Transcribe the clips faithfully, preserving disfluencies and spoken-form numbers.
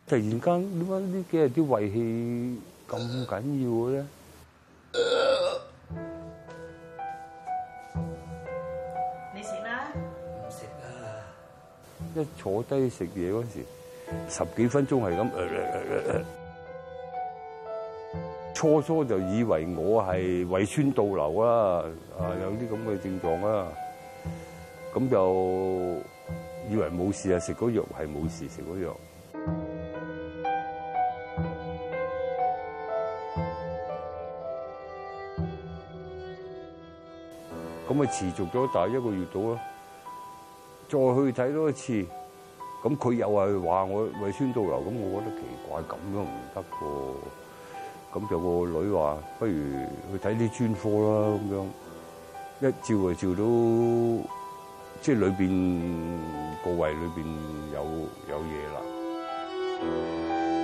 突然間點解呢幾日啲胃氣咁緊要嘅咧？ 你食啦？ 唔食啦！ 一坐低食嘢嗰時，十幾分鐘係咁。呃呃呃初初就以為我係胃酸倒流啦，啊有啲咁嘅症狀啦，咁就以為冇事啊，食嗰藥係冇事，食嗰藥。咁啊持續咗大一個月到啦，再去睇多一次，咁佢又係話我胃酸倒流，咁我覺得奇怪，咁樣唔得喎。咁就個女話：不如去睇啲專科啦。咁樣一照就照到，即係裏邊個胃裏邊有有嘢啦。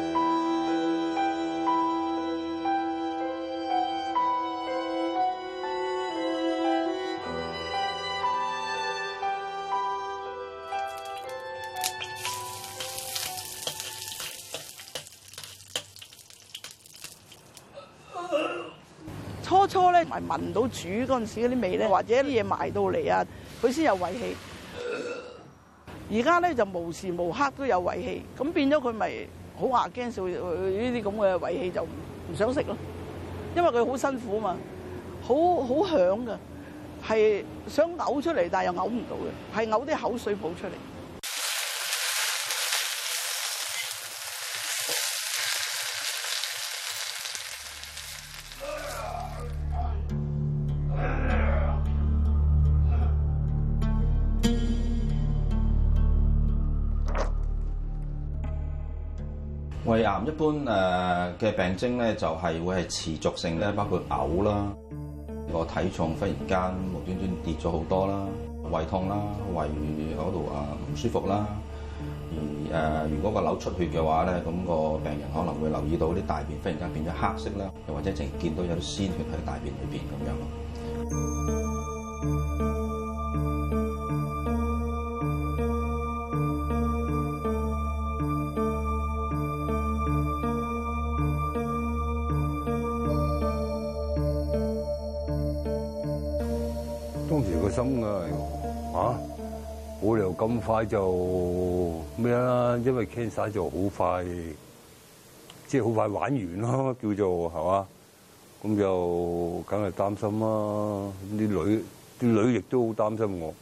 初初咧，咪聞到煮嗰陣時嗰啲味咧，或者啲嘢埋到嚟啊，佢先有胃氣。而家咧就無時無刻都有胃氣，咁變咗佢咪好牙驚少呢啲咁嘅胃氣就唔唔想食咯，因為佢好辛苦嘛，好好響㗎，係想嘔出嚟，但係又嘔唔到嘅，係嘔啲口水泡出嚟。 胃癌一般誒嘅病徵咧，就係會係持續性咧，包括嘔啦，個體重忽然間無端端跌咗好多啦，胃痛啦，胃嗰度啊唔舒服啦。而誒如果個瘤出血嘅話咧，咁個病人可能會留意到啲大便忽然間變咗黑色啦，又或者淨見到有啲鮮血喺大便裏邊咁樣咯。 當時個心啊，嚇冇理由咁快就咩啦，因為 cancer 就好快，即係好快玩完咯，叫做係嘛，咁就梗係擔心啦。啲女啲女亦都好擔心我。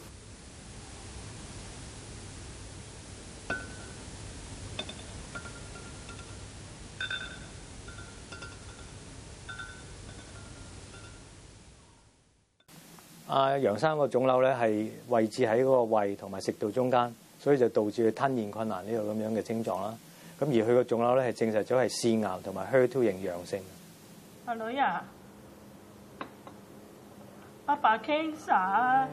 阿楊生個腫瘤咧係位置喺嗰個胃同埋食道中間，所以就導致佢吞嚥困難呢個咁樣嘅症狀啦。咁而佢個腫瘤咧係證實咗係腺癌同埋 H E R 二 型陽性。 阿女啊，阿爸 cancer。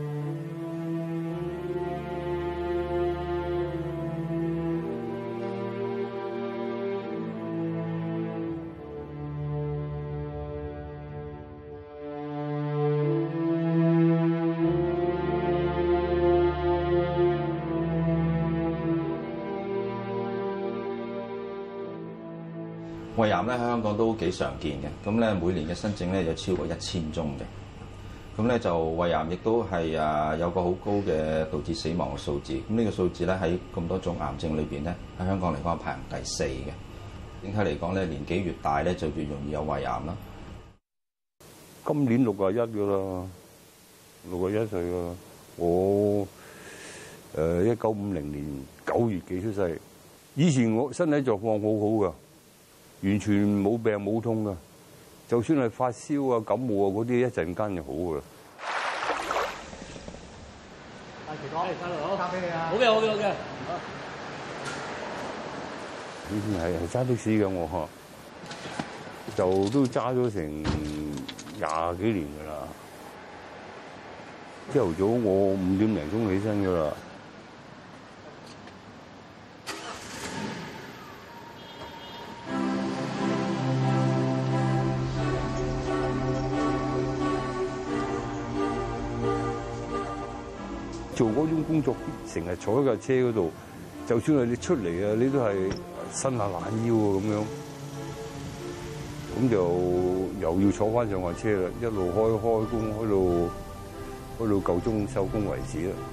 胃癌咧喺香港都幾常見嘅，咁咧每年嘅新症咧有超過一千宗嘅，咁咧就胃癌亦都係啊有個好高嘅導致死亡嘅數字，咁呢個數字咧喺咁多種癌症裏邊咧喺香港嚟講係排行第四嘅。整體嚟講咧，年紀越大咧就越容易有胃癌啦。 今年六十一噶啦，六十一歲噶啦。我誒一九五零年九月幾出世，以前我身體狀況好好噶。完全冇病冇痛噶，就算係發燒啊、感冒啊嗰啲，一陣間就好噶啦。 阿奇哥，嚟收路，交俾你啊！ 好嘅，好嘅，好嘅。 以前係係揸的士嘅我，就都揸咗成廿幾年噶啦。朝頭早我五點零鐘起身噶啦。做嗰種工作，成日坐喺架車嗰度， 就算係你出嚟啊，你都係伸下懶腰啊咁樣，咁就又要坐翻上架車啦，一路開開工開到開到夠鐘收工為止啦。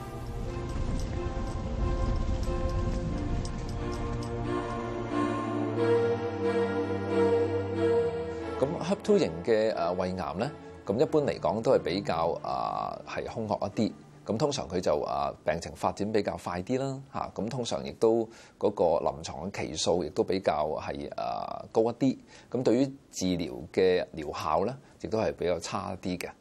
咁 H E R two 型嘅誒胃癌咧，咁一般嚟講都係比較啊係兇惡一啲。咁通常佢就啊病情發展比較快啲啦，嚇咁通常亦都嗰個臨床嘅期數亦都比較係啊高一啲。咁對於治療嘅療效咧，亦都係比較差一啲嘅。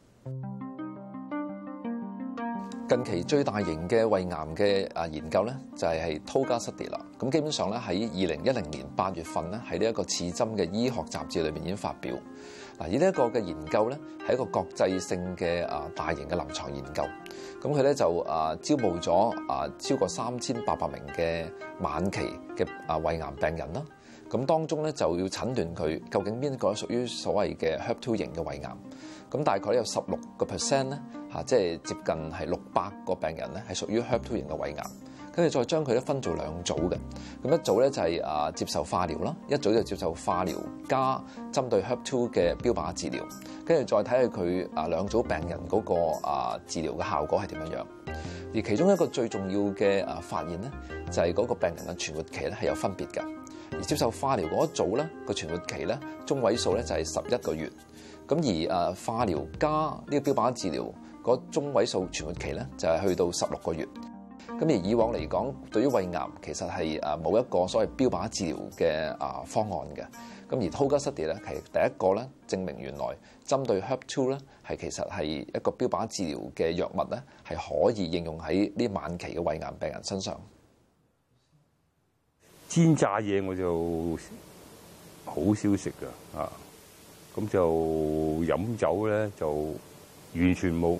近期最大型嘅胃癌嘅啊研究咧，就係係 Tolga Study 啦。咁基本上咧喺二零一零年八月份咧，喺呢一個刺針嘅醫學雜誌裏邊已經發表。嗱，而呢一個嘅研究咧係一個國際性嘅啊大型嘅臨床研究。咁佢咧就啊招募咗啊超過三千八百名嘅晚期嘅啊胃癌病人啦。咁當中咧就要診斷佢究竟邊個屬於所謂嘅 H E R two 型嘅胃癌。咁大概有十六個 percent 咧嚇，即係接近係六百個病人咧係屬於 H E R two 型嘅胃癌。跟住再將佢咧分做兩組嘅。咁一組咧就係啊接受化療啦，一組就接受化療加針對 H E R two 嘅標靶治療。跟住再睇下佢啊兩組病人嗰個啊治療嘅效果係點樣樣。而其中一個最重要嘅啊發現咧，就係嗰個病人嘅存活期咧係有分別嘅。而接受化療嗰一組咧個存活期咧中位數咧就係十一個月。咁而啊化療加呢個標靶治療嗰中位數存活期咧就係去到十六個月。咁而以往嚟講，對於胃癌其實係誒冇一個所謂標靶治療嘅啊方案嘅。咁而 Tolga Study 咧係第一個咧證明原來針對 H E R two 咧係其實係一個標靶治療嘅藥物咧係可以應用喺呢晚期嘅胃癌病人身上。 煎炸嘢我就好少食㗎啊，咁就飲酒咧就完全冇。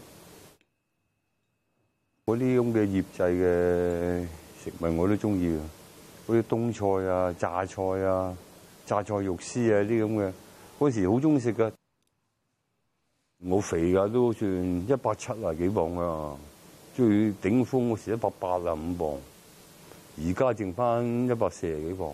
嗰啲咁嘅醃製嘅食物我都中意嘅，嗰啲冬菜啊、榨菜啊、榨菜肉絲啊啲咁嘅，嗰時好中意食噶。我肥噶都算一百七啊幾磅啊，最頂峰嗰時一百八啊五磅，而家剩翻一百四十幾磅。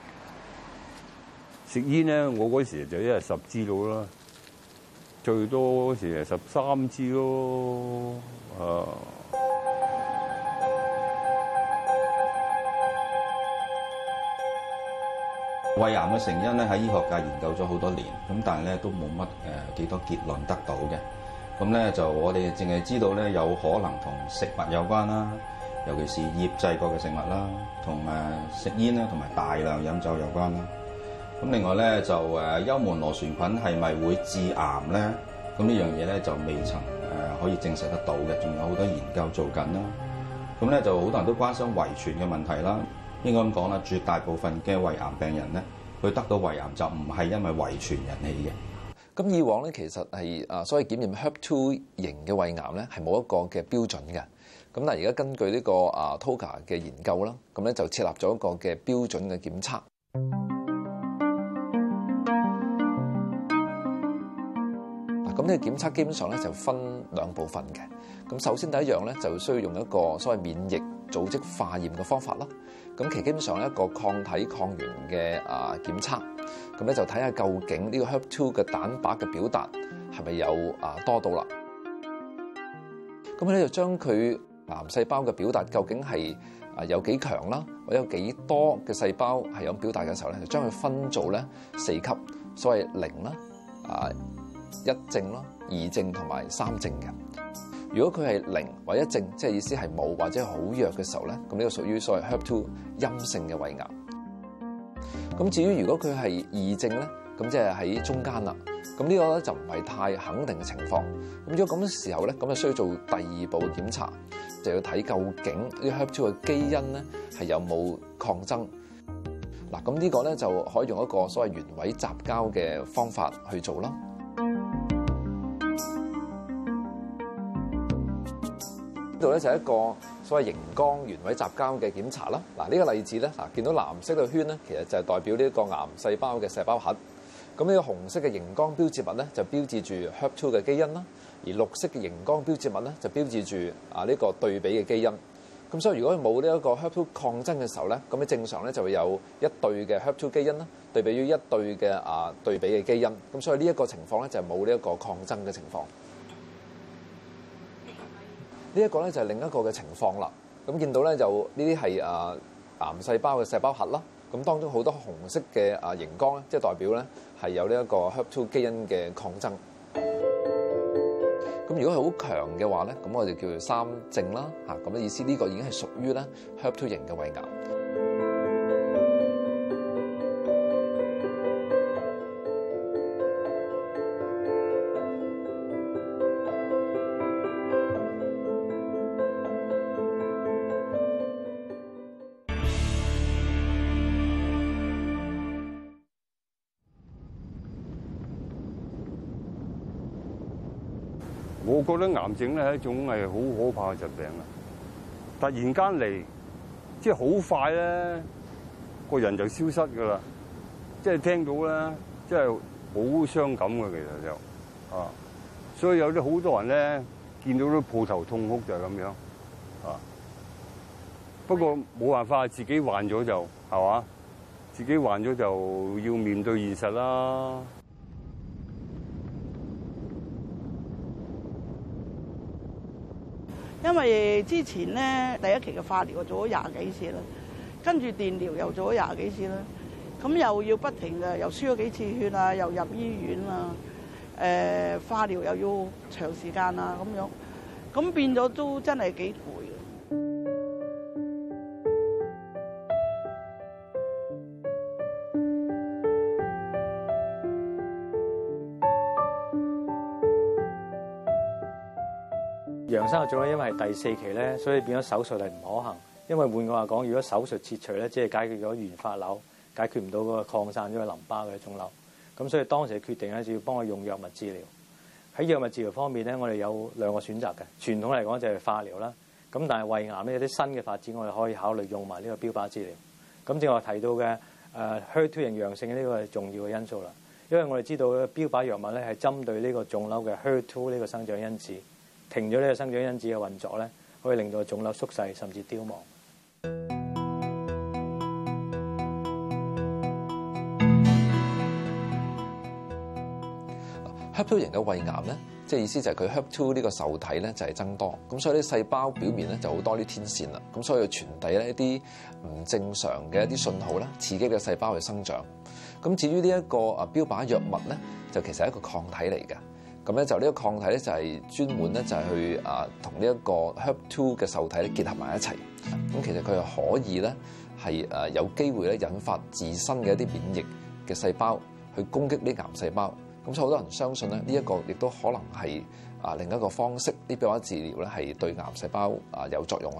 食煙咧，我嗰時就一日十支到啦，最多嗰時係十三支咯，啊。 胃癌嘅成因咧喺醫學界研究咗好多年，咁但係咧都冇乜誒幾多結論得到嘅。咁咧就我哋淨係知道咧有可能同食物有關啦，尤其是醃製過嘅食物啦，同誒食煙啦，同埋大量飲酒有關啦。咁另外咧就誒幽門螺旋菌係咪會致癌咧？咁呢樣嘢咧就未曾誒可以證實得到嘅，仲有好多研究做緊啦。咁咧就好多人都關心遺傳嘅問題啦。應該咁講啦，絕大部分嘅胃癌病人咧，佢得到胃癌就唔係因為遺傳引起嘅。 咁以往咧，其實係啊，所謂檢驗 H E R two 型嘅胃癌咧，係冇一個嘅標準嘅。咁但係而家根據呢個啊 Tolga 嘅研究啦，咁咧就設立咗一個嘅標準嘅檢測。嗱，咁呢個檢測基本上咧就分兩部分嘅。咁首先第一樣咧，就需要用一個所謂免疫組織化驗嘅方法啦。咁其基本上一個抗體抗原嘅啊檢測，咁咧就睇下究竟呢個 H E R two 嘅蛋白嘅表達係咪有啊多到啦？咁咧就將佢癌細胞嘅表達究竟係啊有幾強啦，或者有幾多嘅細胞係有表達嘅時候咧，就將佢分做咧四級，所謂零啦、啊一正啦、二正同埋三正嘅。如果佢係零或一正，即係意思係冇或者好弱嘅時候咧，咁呢個屬於所謂 H E R two 陰性嘅胃癌。咁至於如果佢係二正咧，咁即係喺中間啦。咁呢個咧就唔係太肯定嘅情況。咁如果咁嘅時候咧，咁就需要做第二步嘅檢查，就要睇究竟呢個 H E R two 嘅基因咧係有冇抗爭。嗱，咁呢個咧就可以用一個所謂原位雜交嘅方法去做啦。呢度咧就係一個所謂熒光原位雜交嘅檢查啦。嗱，呢個例子咧，嗱見到藍色嘅圈咧，其實就係代表呢個癌細胞嘅細胞核。咁呢個紅色嘅熒光標誌物咧，就標誌住 H E R two 嘅基因啦。而綠色嘅熒光標誌物咧，就標誌住啊呢個對比嘅基因。 咁所以如果冇呢一個 H E R 二 抗爭嘅時候咧，咁你正常咧就會有一對嘅 H E R 二 基因啦，對比於一對嘅啊對比嘅基因。咁所以呢一個情況咧就係冇呢一個抗爭嘅情況。呢一個咧就係另一個嘅情況啦。咁見到咧就呢啲係啊癌細胞嘅細胞核啦。咁當中好多紅色嘅啊熒光咧，即係代表咧係有呢一個 H E R 二 基因嘅抗爭。咁如果係好強嘅話咧，咁我哋叫做三正啦嚇。咁嘅意思呢個已經係屬於咧 H E R 二 型嘅胃癌。 我覺得癌症咧係一種係好可怕嘅疾病啊！突然間嚟，即係好快咧，個人就消失㗎啦。即係聽到咧，即係好傷感嘅，其實就啊，所以有啲好多人咧見到都抱頭痛哭就係咁樣啊。不過冇辦法，自己患咗就係嘛，自己患咗就要面對現實啦。 因為之前咧第一期嘅化療做咗廿幾次啦，跟住電療又做咗廿幾次啦，咁又要不停嘅，又輸咗幾次血啊，又入醫院啊，誒、呃、化療又要長時間啊咁樣，咁變咗都真係幾攰。 楊生嘅腫瘤因為係第四期咧，所以變咗手術係唔可行。因為換句話講，如果手術切除咧，即係解決咗原發瘤，解決唔到嗰個擴散咗嘅淋巴嘅腫瘤。咁所以當時嘅決定咧，就要幫佢用藥物治療。喺藥物治療方面咧，我哋有兩個選擇嘅。傳統嚟講就係化療啦。咁但係胃癌咧有啲新嘅發展，我哋可以考慮用埋呢個標靶治療。咁正話提到嘅誒 H E R 二 型陽性呢個係重要嘅因素啦。因為我哋知道標靶藥物咧係針對呢個腫瘤嘅 H E R 二 呢個生長因子。停咗呢個生長因子嘅運作咧，可以令到腫瘤縮細甚至凋亡。 H E R 二 型嘅胃癌咧，即係意思就係佢 H E R 二呢個受體咧就係增多，咁所以啲細胞表面咧就好多啲天線啦，咁所以傳遞咧一啲唔正常嘅一啲信號啦，刺激嘅細胞去生長。咁至於呢一個啊標靶藥物咧，就其實係一個抗體嚟嘅。咁咧就呢個抗體咧就係專門咧就係去啊同呢一個 H E R 二 嘅受體咧結合埋一齊。咁其實佢係可以咧係誒有機會咧引發自身嘅一啲免疫嘅細胞去攻擊呢癌細胞。咁所以好多人相信咧呢一個亦都可能係啊另一個方式，啲標靶治療咧係對癌細胞啊有作用啦。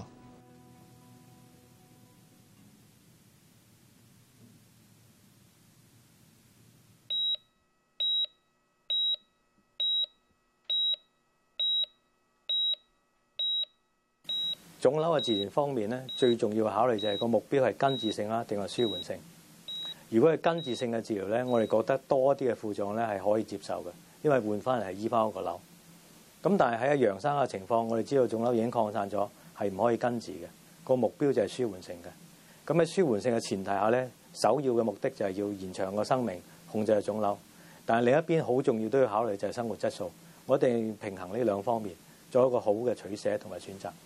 腫瘤嘅治療方面咧，最重要嘅考慮就係個目標係根治性啦，定係舒緩性。如果係根治性嘅治療咧，我哋覺得多啲嘅副作用咧係可以接受嘅，因為換翻嚟係醫翻個瘤。咁但係喺楊生嘅情況，我哋知道腫瘤已經擴散咗，係唔可以根治嘅。個目標就係舒緩性嘅。咁喺舒緩性嘅前提下咧，首要嘅目的就係要延長個生命，控制個腫瘤。但係另一邊好重要都要考慮就係生活質素。我一定要平衡呢兩方面，做一個好嘅取捨同埋選擇。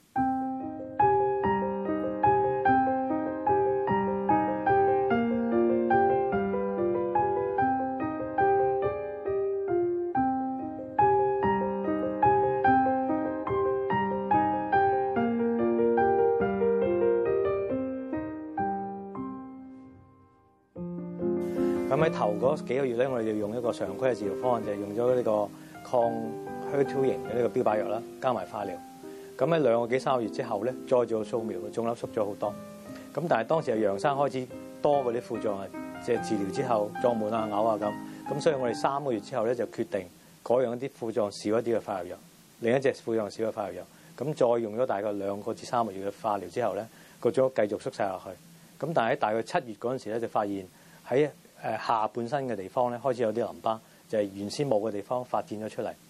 咁喺頭嗰幾個月咧，我哋就用一個常規嘅治療方案，就係、是、用咗呢個抗 H E R 二 型嘅呢個標靶藥啦，加埋化療。咁喺兩個幾三個月之後咧，再做掃描，腫瘤縮咗好多。咁但係當時係楊生開始多嗰啲副作用，即係治療之後脹滿啊、嘔啊咁。咁所以我哋三個月之後咧就決定改用一啲副作用少一啲嘅化療藥，另一隻副作用少嘅化療藥。咁再用咗大概兩個至三個月嘅化療之後咧，個腫瘤繼續縮細落去。咁但係喺大概七月嗰陣時咧，就發現喺誒下半身嘅地方咧，開始有啲淋巴，就係原先冇嘅地方發展咗出嚟。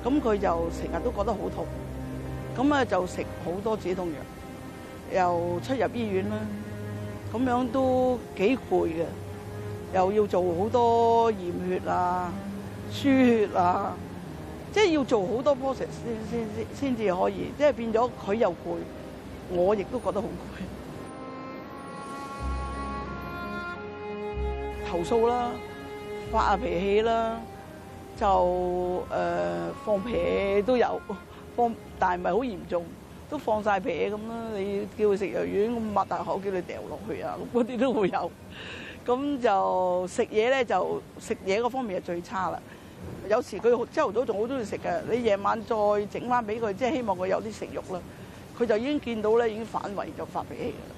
咁佢就成日都覺得好痛，咁啊就食好多止痛藥，又出入醫院啦，咁樣都幾攰嘅，又要做好多驗血啊、輸血啊，即係要做好多 process 先先先先至可以，即係變咗佢又攰，我亦都覺得好攰。投訴啦，發下脾氣啦，就誒、呃、放屁都有，放但係唔係好嚴重，都放晒屁咁啦。你叫佢食藥丸，咁擘大口叫你掉落去啊，咁嗰啲都會有。咁就食嘢咧，就食嘢嗰方面係最差啦。有時佢朝頭早仲好中意食嘅，你夜晚再整翻俾佢，即係希望佢有啲食慾啦。佢就已經見到咧，已經反胃就發脾氣㗎啦。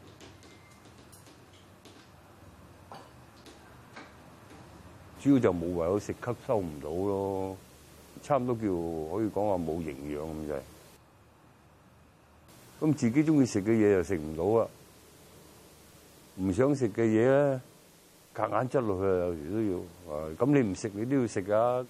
主要就冇為咗食吸收唔到咯，差唔多叫可以講話冇營養咁滯。咁自己中意食嘅嘢又食唔到啊，唔想食嘅嘢咧，夾硬執落去啊，有時都要。啊，咁你唔食你都要食㗎。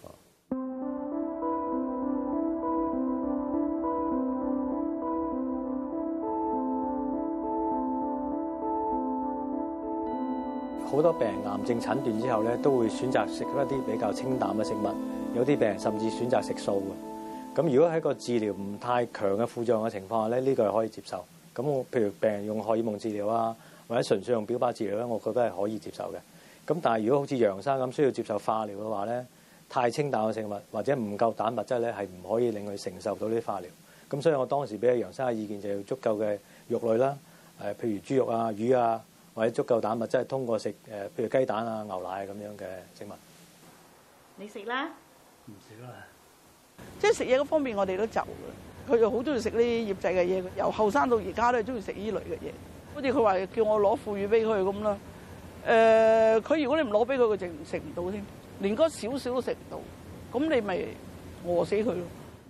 好多病人癌症診斷之後咧，都會選擇食一啲比較清淡嘅食物。有啲病人甚至選擇食素嘅。咁如果喺個治療唔太強嘅副作用嘅情況下咧，呢個係可以接受。咁我譬如病人用荷爾蒙治療啊，或者純粹用標靶治療咧，我覺得係可以接受嘅。咁但係如果好似楊生咁需要接受化療嘅話咧，太清淡嘅食物或者唔夠蛋白質咧，係唔可以令佢承受到啲化療。咁所以我當時俾阿楊生嘅意見就要足夠嘅肉類啦，誒譬如豬肉啊、魚啊。或者足夠蛋白質係通過食誒，譬如雞蛋啊、牛奶咁樣嘅食物。 你食啦？ 唔食啦。 即係食嘢嗰方面，我哋都就嘅。佢又好中意食呢啲醃製嘅嘢，由後生到而家都係中意食呢類嘅嘢。好似佢話叫我攞腐乳俾佢咁啦。誒、呃，佢如果你唔攞俾佢，佢就食唔到添，連嗰少少都食唔到。咁你咪餓死佢咯。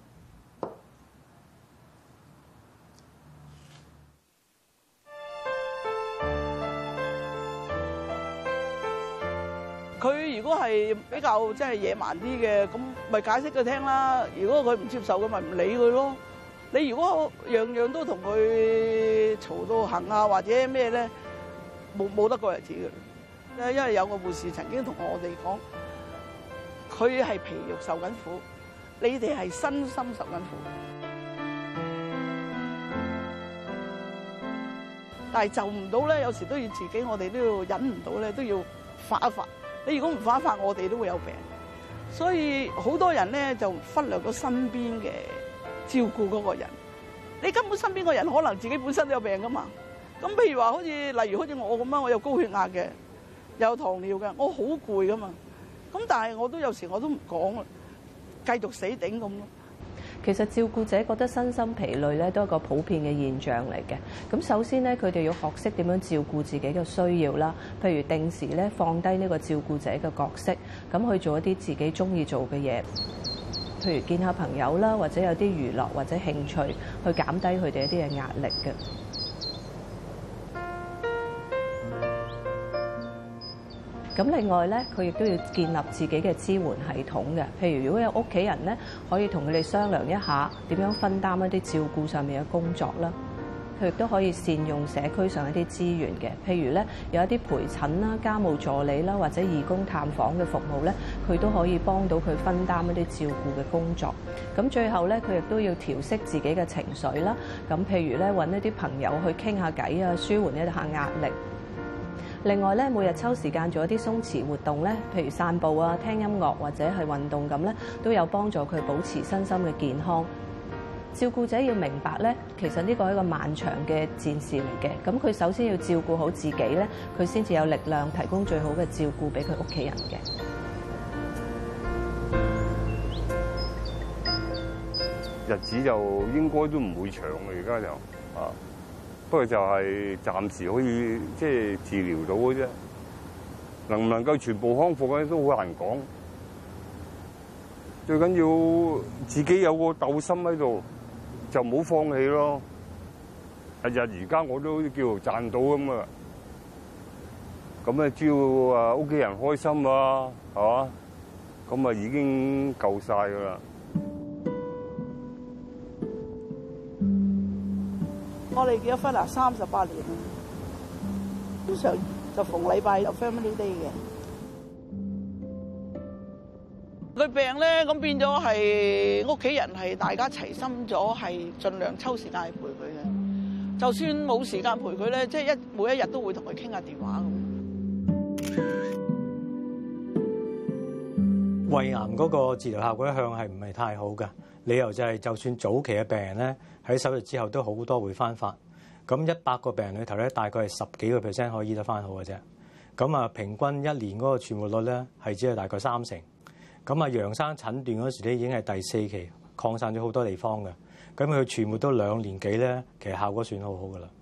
佢如果係比較即係野蠻啲嘅，咁咪解釋佢聽啦。如果佢唔接受嘅，咪唔理佢咯。你如果樣樣都同佢嘈到行啊，或者咩咧，冇冇得過日子嘅。因為有個護士曾經同我哋講，佢係皮肉受緊苦，你哋係身心受緊苦。但係就唔到咧，有時都要自己，我哋都要忍唔到咧，都要發一發。你如果唔發一發，我哋都會有病。所以好多人咧就忽略咗身邊嘅照顧嗰個人。你根本身邊個人可能自己本身都有病噶嘛。咁譬如話，好似例如好似我咁樣，我有高血壓嘅，有糖尿嘅，我好攰噶嘛。咁但係我都有時我都唔講啊，繼續死頂咁咯。 其實照顧者覺得身心疲累咧，都係一個普遍嘅現象嚟嘅。咁首先咧，佢哋要學識點樣照顧自己嘅需要啦。譬如定時咧放低呢個照顧者嘅角色，咁去做一啲自己中意做嘅嘢。譬如見下朋友啦，或者有啲娛樂或者興趣，去減低佢哋一啲嘅壓力嘅。咁另外咧，佢亦都要建立自己嘅支援系統嘅。譬如如果有屋企人咧，可以同佢哋商量一下點樣分擔一啲照顧上面嘅工作啦。佢亦都可以善用社區上一啲資源嘅。譬如咧，有一啲陪診啦、家務助理啦，或者義工探訪嘅服務咧，佢都可以幫到佢分擔一啲照顧嘅工作。咁最後咧，佢亦都要調適自己嘅情緒啦。咁譬如咧，揾一啲朋友去傾下偈啊，舒緩一下壓力。另外咧，每日抽時間做一啲鬆弛活動咧，譬如散步啊、聽音樂或者係運動咁咧，都有幫助佢保持身心嘅健康。照顧者要明白咧，其實呢個係一個漫長嘅戰事嚟嘅。咁佢首先要照顧好自己咧，佢先至有力量提供最好嘅照顧俾佢屋企人嘅。 日子就應該都唔會長嘅，而家就啊。不過就係暫時可以即係治療到嘅啫，能唔能夠全部康復咧都好難講。最緊要自己有個鬥心喺度，就唔好放棄咯。日日而家我都叫做賺到咁啊，咁啊只要啊屋企人開心啊，係嘛，咁啊已經夠晒㗎啦。 我哋結咗婚啊，三十八年啦，通常就逢禮拜有 family day 嘅。佢病咧，咁變咗係屋企人係大家齊心咗，係盡量抽時間去陪佢嘅。就算冇時間陪佢咧，即係一每一日都會同佢傾下電話咁。 胃癌嗰個治療效果一向係唔係太好㗎？理由就係就算早期嘅病人咧，喺手術之後都好多會翻發。咁一百個病人裏頭咧，大概係十幾個 percent 可以醫得翻好嘅啫。咁啊，平均一年嗰個存活率咧係只係大概三成。咁啊，楊生診斷嗰時咧已經係第四期，擴散咗好多地方嘅。咁佢存活都兩年幾咧，其實效果算好好㗎啦。